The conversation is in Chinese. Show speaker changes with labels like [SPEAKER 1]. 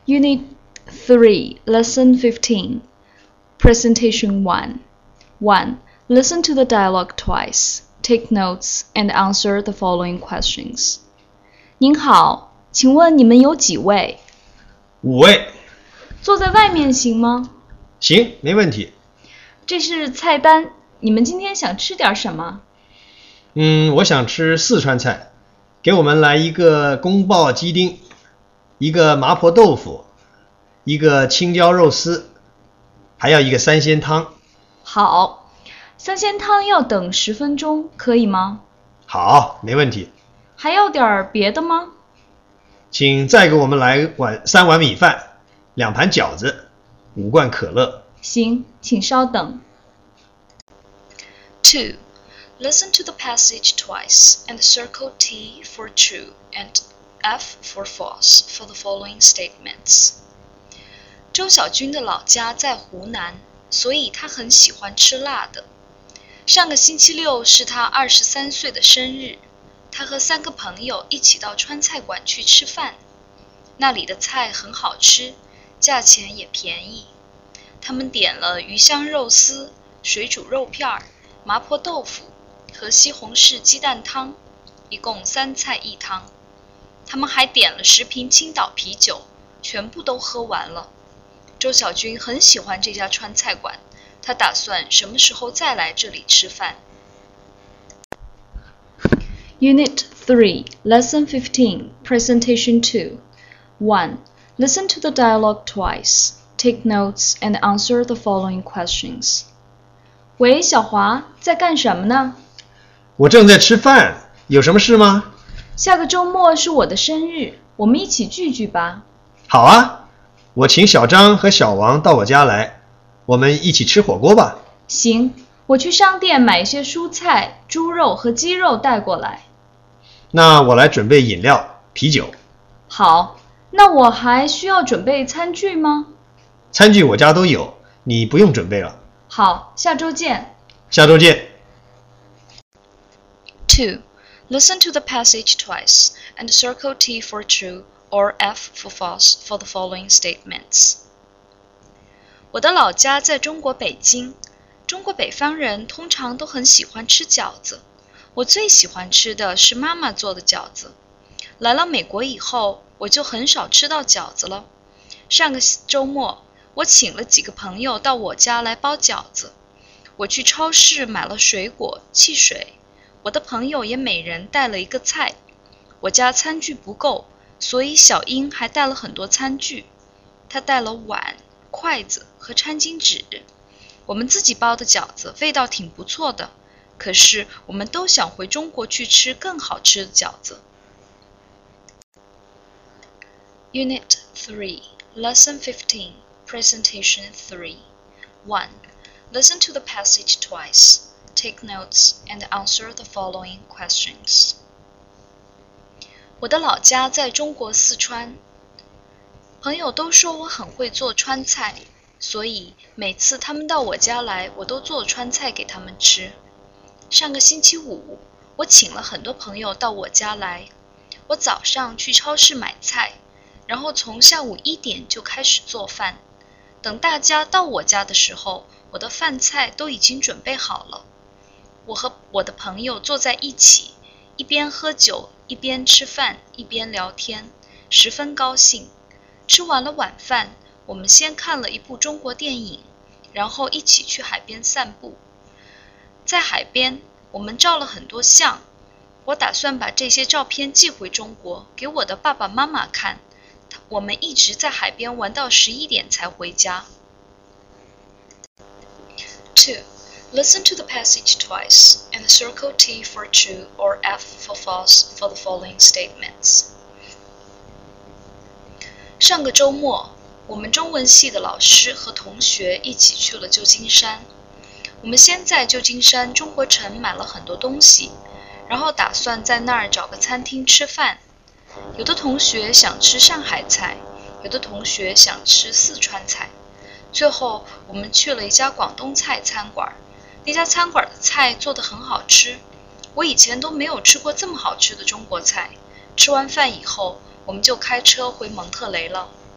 [SPEAKER 1] Unit 3, Lesson 15, Presentation 1. 1. Listen to the dialogue twice. Take notes and answer the following questions. 您好，请问你们有几位
[SPEAKER 2] ？5位。
[SPEAKER 1] 坐在外面行吗？
[SPEAKER 2] 行，没问题。
[SPEAKER 1] 这是菜单，你们今天想吃点什么？
[SPEAKER 2] 我想吃四川菜，给我们来一个宫爆鸡丁，一个麻婆豆腐，一个青椒肉丝，还要一个三鲜汤。
[SPEAKER 1] 好，三鲜汤要等10分钟，可以吗？
[SPEAKER 2] 好，没问题。
[SPEAKER 1] 还要点别的吗？
[SPEAKER 2] 请再给我们来3碗米饭，2盘饺子，5罐可乐。
[SPEAKER 1] 行，请稍等。2. Listen to the passage twice and circle T for true and F for false for the following statements. 周小军的老家在湖南，所以他很喜欢吃辣的。上个星期六是他23岁的生日，他和3个朋友一起到川菜馆去吃饭。那里的菜很好吃，价钱也便宜。他们点了鱼香肉丝、水煮肉片、麻婆豆腐和西红柿鸡蛋汤，一共3菜1汤。他们还点了10瓶青岛啤酒，全部都喝完了。周小军很喜欢这家川菜馆，他打算什么时候再来这里吃饭。Unit 3, Lesson 15, Presentation 2. 1. Listen to the dialogue twice. Take notes and answer the following questions. 喂，小华，在干什么呢？
[SPEAKER 2] 我正在吃饭，有什么事吗？
[SPEAKER 1] 下个周末是我的生日，我们一起聚聚吧。
[SPEAKER 2] 好啊，我请小张和小王到我家来，我们一起吃火锅吧。
[SPEAKER 1] 行，我去商店买一些蔬菜、猪肉和鸡肉带过来。
[SPEAKER 2] 那我来准备饮料、啤酒。
[SPEAKER 1] 好，那我还需要准备餐具吗？
[SPEAKER 2] 餐具我家都有，你不用准备了。
[SPEAKER 1] 好，下周见。
[SPEAKER 2] 下周见。
[SPEAKER 1] 2. Listen to the passage twice and circle T for true or F for false for the following statements. 我的老家在中国北京，中国北方人通常都很喜欢吃饺子。我最喜欢吃的是妈妈做的饺子。来了美国以后，我就很少吃到饺子了。上个周末，我请了几个朋友到我家来包饺子。我去超市买了水果、汽水，我的朋友也每人带了一个菜。我家餐具不够，所以小英还带了很多餐具。她带了碗、筷子和餐巾纸。我们自己包的饺子味道挺不错的，可是我们都想回中国去吃更好吃的饺子。Unit 3, Lesson 15, Presentation 3. 1. Listen to the passage twice. Take notes and answer the following questions. 我的老家在中国四川，朋友都说我很会做川菜，所以每次他们到我家来，我都做川菜给他们吃。上个星期五，我请了很多朋友到我家来。我早上去超市买菜，然后从下午1点就开始做饭。等大家到我家的时候，我的饭菜都已经准备好了。我和我的朋友坐在一起，一边喝酒，一边吃饭，一边聊天，十分高兴。吃完了晚饭，我们先看了一部中国电影，然后一起去海边散步。在海边，我们照了很多相。我打算把这些照片寄回中国，给我的爸爸妈妈看。我们一直在海边玩到11点才回家。2. Listen to the passage twice and circle T for true or F for false for the following statements. 上个周末，我们中文系的老师和同学一起去了旧金山。我们先在旧金山中国城买了很多东西，然后打算在那儿找个餐厅吃饭。有的同学想吃上海菜，有的同学想吃四川菜。最后我们去了一家广东菜餐馆，那家餐馆的菜做得很好吃，我以前都没有吃过这么好吃的中国菜。吃完饭以后，我们就开车回蒙特雷了。